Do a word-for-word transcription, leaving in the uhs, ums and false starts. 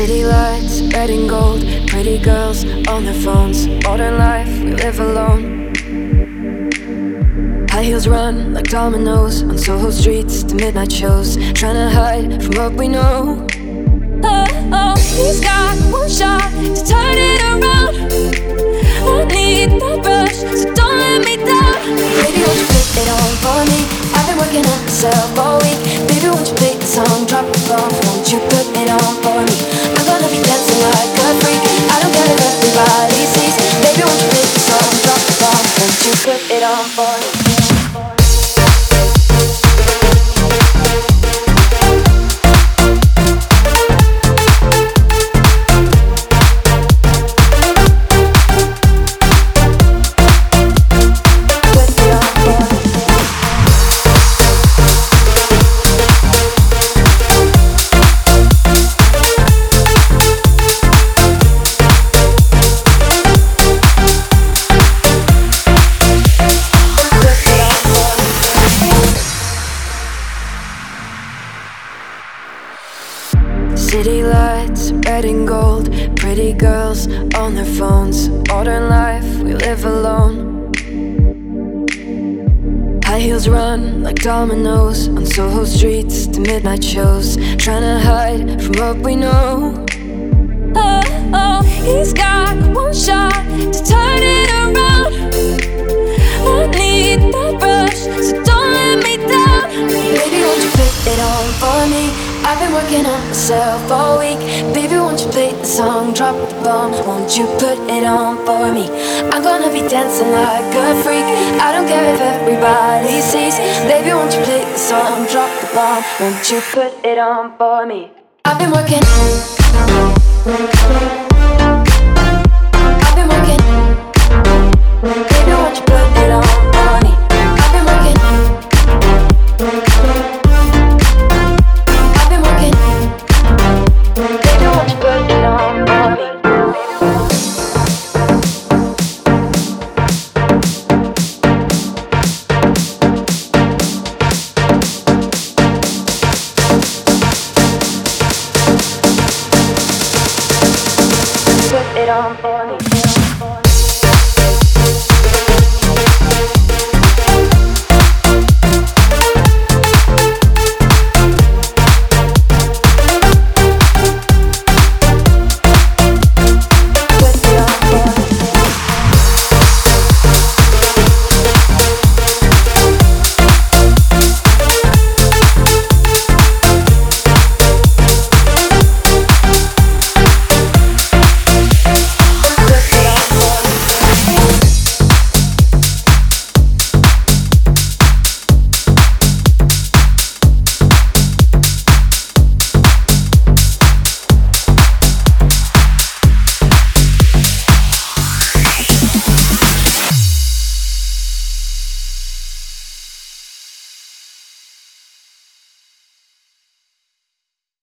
City lights, red and gold, pretty girls on their phones. Modern life, we live alone. High heels run like dominoes on Soho streets to midnight shows, trying to hide from what we know. Oh, oh, he's got one shot to turn it around. I need that rush, so don't let me down. Baby, won't you put it on for me? I've been working on myself all week. Baby, won't you play the song, drop the bomb? Won't you put it on for me? I'm gonna be dancing like a freak. I don't care if everybody sees. Baby, won't you play the song, drop the bomb? Won't you put it on for me? City lights, red and gold, pretty girls on their phones. Modern life, we live alone. High heels run like dominoes on Soho streets to midnight shows, trying to hide from what we know. Oh, oh, he's got one shot to turn it around. I need that rush, so don't let me down. Baby, won't you put it on for me? I've been working on myself all week. Baby, won't you play the song, drop the bomb? Won't you put it on for me? I'm gonna be dancing like a freak. I don't care if everybody sees. Baby, won't you play the song, drop the bomb? Won't you put it on for me? I've been working. I've been working. Baby, won't you put it on for me? I've been working. Put it on for